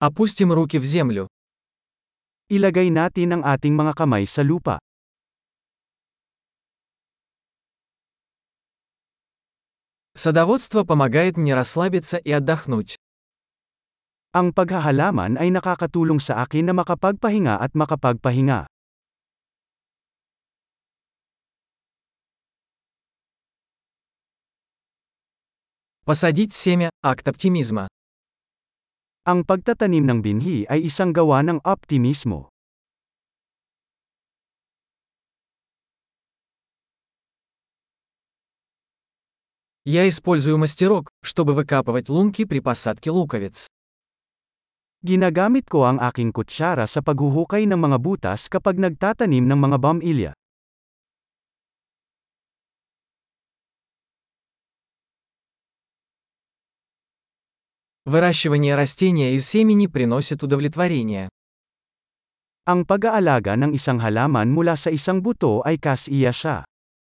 Опустим руки в землю. Ilagay natin ang ating mga kamay sa lupa. Садоводство помогает мне расслабиться и отдохнуть. Ang paghahalaman ay nakakatulong sa akin na makapagpahinga at makapagpahinga. Посадить семя – акт оптимизма. Ang pagtatanim ng binhi ay isang gawa ng optimismo. Я использую мастерок, чтобы выкапывать лунки при посадке луковиц. Ginagamit ko ang aking kutsara sa paghuhukay ng mga butas kapag nagtatanim ng mga bamilya. Выращивание растения из семени приносит удовлетворение. Ang pag-aalaga ng isang halaman mula sa isang buto ay kasiya siya.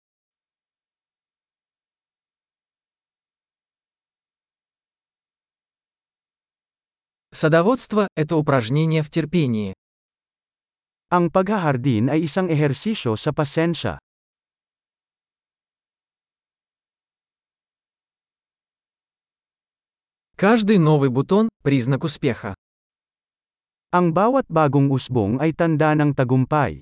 Садоводство – это упражнение в терпении. Ang paghahardin ay isang ehersisyo sa pasensya. Каждый новый бутон – признак успеха. Ang bawat bagong usbong ay tanda ng tagumpay.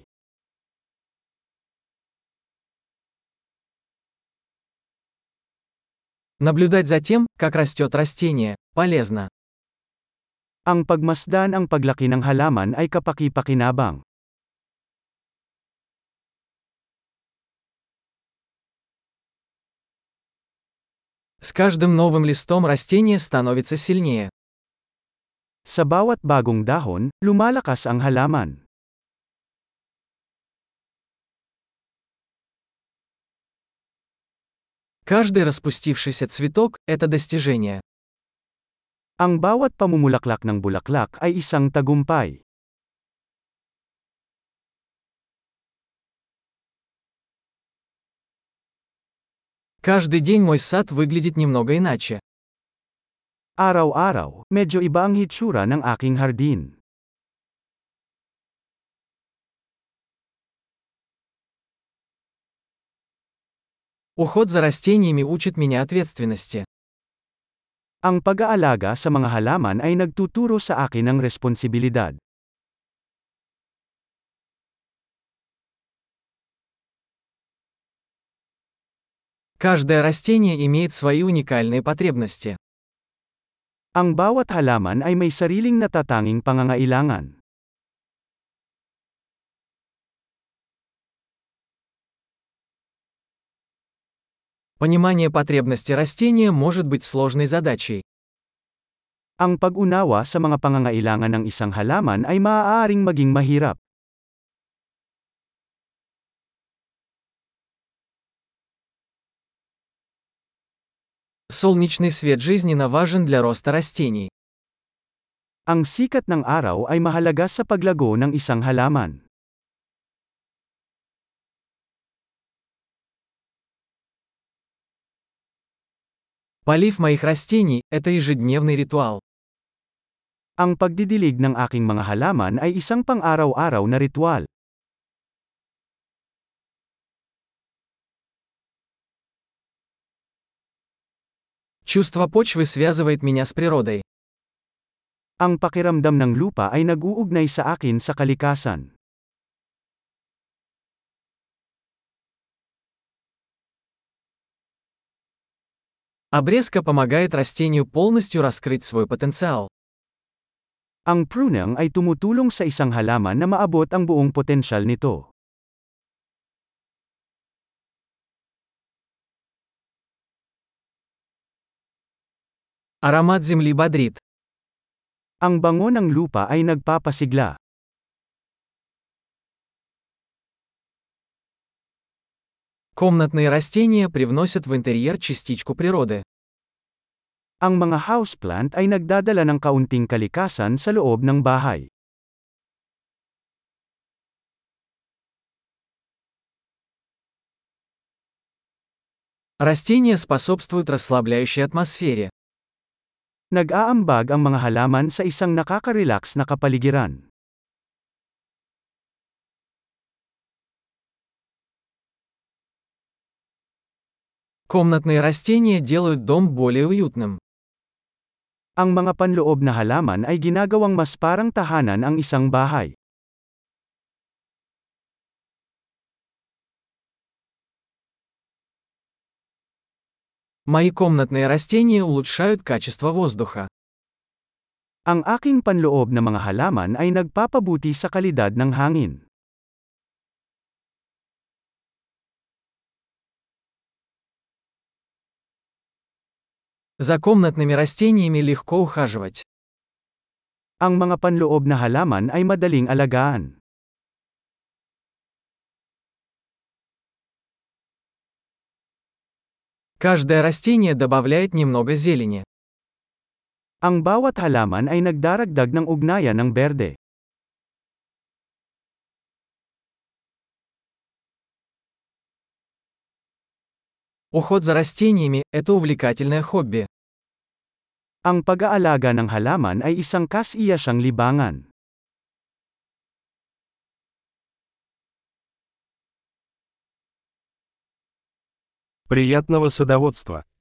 Наблюдать за тем, как растет растение, полезно. Ang pagmasdan ang paglaki ng halaman ay kapaki-pakinabang. С каждым новым листом растение становится сильнее. Sa bawat bagong dahon, lumalakas ang halaman. Каждый распустившийся цветок – это достижение. Ang bawat pamumulaklak ng bulaklak ay isang tagumpay. Каждый день мой сад выглядит немного иначе. Araw-araw, medyo iba ang hitsura ng aking hardin. Уход за растениями учит меня ответственности. Ang pag-aalaga sa mga halaman ay nagtuturo sa akin ng responsibilidad. Каждое растение имеет свои уникальные потребности. Ang bawat halaman ay may sariling natatanging pangangailangan. Понимание потребностей растения может быть сложной задачей. Ang pag-unawa sa mga pangangailangan ng isang halaman ay maaaring maging mahirap. Солнечный свет жизненно важен для роста растений. Ang sikat ng araw ay mahalaga sa paglago ng isang halaman. Полив моих растений – это ежедневный ритуал. Ang pagdidilig ng aking mga halaman ay isang pang-araw-araw na ritual. Чувство почвы связывает меня с природой. Ang pakiramdam ng lupa ay nag-uugnay sa akin sa kalikasan. Обрезка помогает растению полностью раскрыть свой потенциал. Ang pruning ay tumutulong sa isang halaman na maabot ang buong potensyal nito. Аромат земли бодрит. Ang bango ng lupa ay nagpapasigla. Комнатные растения привносят в интерьер частичку природы. Ang mga houseplant ay nagdadala ng kaunting kalikasan sa loob ng bahay. Растения способствуют расслабляющей атмосфере. Nag-aambag ang mga halaman sa isang nakaka-relax na kapaligiran. Комнатные растения делают дом более уютным. Ang mga panloob na halaman ay ginagawang mas parang tahanan ang isang bahay. Мои комнатные растения улучшают качество воздуха. Ang aking panloob na mga halaman ay nagpapabuti sa kalidad ng hangin. За комнатными растениями легко ухаживать. Ang mga panloob na halaman ay madaling alagaan. Каждое растение добавляет немного зелени. Ang bawat halaman ay nagdaragdag ng ugnayan ng berde. Уход за растениями – это увлекательное хобби. Ang pag-aalaga ng halaman ay isang kas-iyasang libangan. Приятного садоводства!